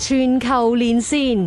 全球連線，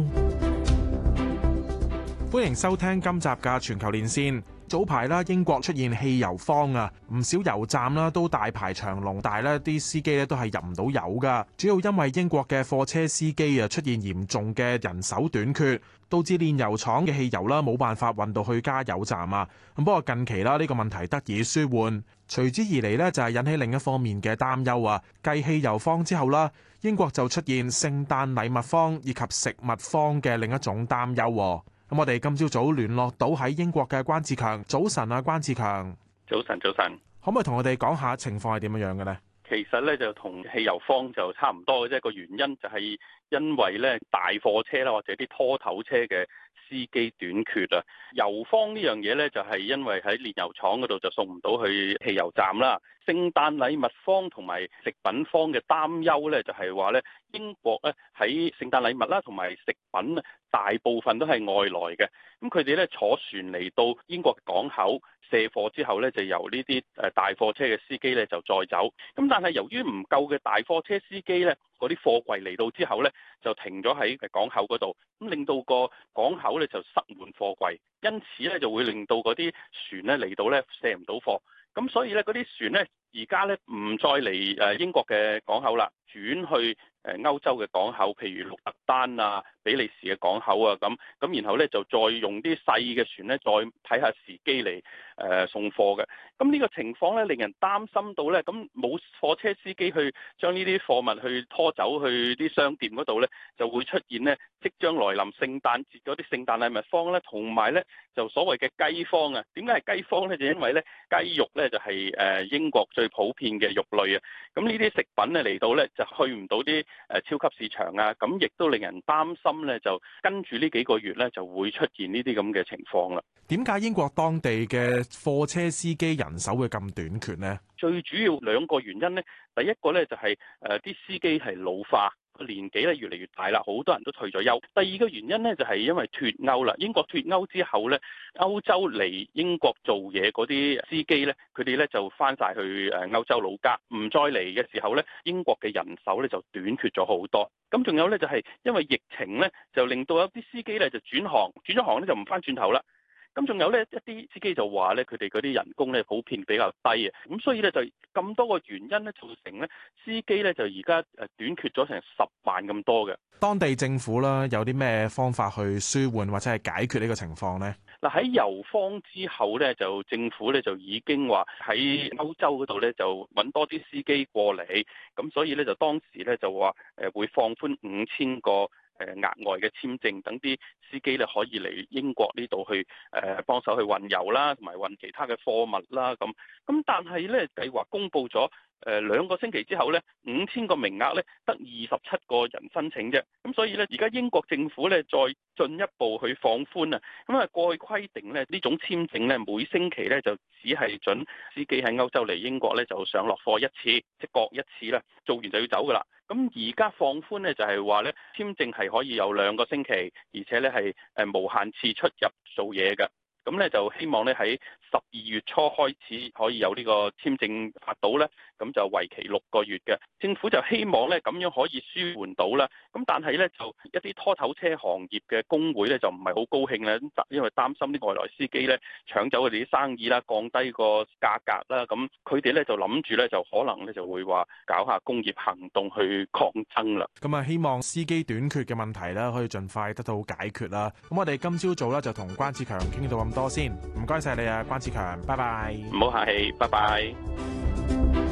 歡迎收聽今集嘅全球連線。早排啦，英國出現汽油荒啊，唔少油站啦都大排長龍，但係咧啲司機咧都係入唔到油噶。主要因為英國嘅貨車司機啊出現嚴重嘅人手短缺，導致煉油廠嘅汽油啦冇辦法運到去加油站啊。咁不過近期啦呢個問題得以舒緩，隨之而嚟呢就係引起另一方面嘅擔憂啊。繼汽油荒之後啦，英國就出現聖誕禮物荒以及食物荒嘅另一種擔憂。咁我哋今朝早聯絡到喺英國嘅關志強。早晨啊，關志強。 早晨，早晨。 可唔可以同我哋講下情況係點樣嘅呢？ 其實咧就同汽油荒就差唔多嘅啫，個原因就係因為咧大貨車啦或者啲拖頭車嘅司機短缺啊。油荒呢樣嘢咧就係因為喺煉油廠嗰度就送唔到去汽油站啦。聖誕禮物荒同埋食品荒嘅擔憂咧就係話咧英國咧喺聖誕禮物啦同埋食品大部分都係外來嘅，咁佢哋咧坐船嚟到英國港口卸貨之後咧就由呢啲大貨車嘅司機咧就載走，咁但係由於唔夠嘅大貨車司機咧，嗰啲貨櫃嚟到之後咧就停咗喺港口嗰度，咁令到個港口咧就塞滿貨櫃，因此咧就會令到嗰啲船咧嚟到咧卸唔到貨，咁所以咧嗰啲船咧而家咧唔再嚟英國嘅港口啦，轉去歐洲嘅港口，譬如鹿特丹啊、比利時嘅港口啊，咁然後咧就再用啲細嘅船咧，再睇下時機嚟送貨嘅。咁呢個情況咧，令人擔心到咧，咁冇貨車司機去將呢啲貨物去拖走去啲商店嗰度咧，就會出現咧即將來臨聖誕節嗰啲聖誕禮物荒咧，同埋咧就所謂嘅雞荒啊。點解係雞荒咧？就因為咧雞肉咧就係英國最普遍嘅肉類啊。咁呢啲食品咧嚟到咧就去唔到啲超級市場啊，咁亦都令人擔心咧，就跟住呢幾個月咧就會出現呢啲咁嘅情況啦。 點解英國當地嘅貨車司機人手會咁短缺呢？ 最主要兩個原因咧，第一個咧就係啲司機係老化，年紀咧越嚟越大啦，好多人都退咗休。第二個原因咧就係因為脫歐啦，英國脫歐之後咧，歐洲嚟英國做嘢嗰啲司機咧，佢哋咧就翻晒去歐洲老家，唔再嚟嘅時候咧，英國嘅人手咧就短缺咗好多。咁仲有咧就係因為疫情咧，就令到有啲司機咧就轉咗行咧就唔翻轉頭啦。咁仲有咧一啲司機就話咧，佢哋嗰啲人工咧普遍比較低啊，咁所以咧就咁多個原因咧造成咧司機咧就而家短缺咗成10萬咁多嘅。 當地政府啦有啲咩方法去舒緩或者係解決呢個情況呢？ 嗱，喺油荒之後咧，就政府咧就已經話喺歐洲嗰度咧就揾多啲司機過嚟，咁所以咧就當時咧就話會放寬5000個額外嘅簽證，等啲司機咧可以嚟英國呢度去幫手去運油啦，同埋運其他嘅貨物啦，咁但係咧計劃公佈咗2個星期之後咧，5000個名額咧得27個人申請啫，咁所以咧而家英國政府咧再進一步去放寬啊，咁啊過去規定咧呢種簽證咧每星期咧就只係準司機喺歐洲嚟英國咧就上落貨一次，即各一次啦，做完就要走噶啦。咁而家放寬咧就係話咧簽證係可以有2個星期，而且咧係無限次出入做嘢嘅。咁咧就希望咧喺12月初開始可以有呢個簽證發到咧，咁就為期6個月嘅。政府就希望咧咁樣可以舒緩到啦。咁但係咧就一啲拖頭車行業嘅工會咧就唔係好高興啦，因為擔心啲外來司機咧搶走佢哋啲生意啦，降低個價格啦。咁佢哋咧就諗住咧就可能咧就會話搞下工業行動去抗爭啦。 咁啊，希望司機短缺嘅問題咧可以盡快得到解決啦。咁我哋今朝早咧就同關志強傾到咁多先，唔該晒你啊，關志強，拜拜。 唔好客氣，拜拜。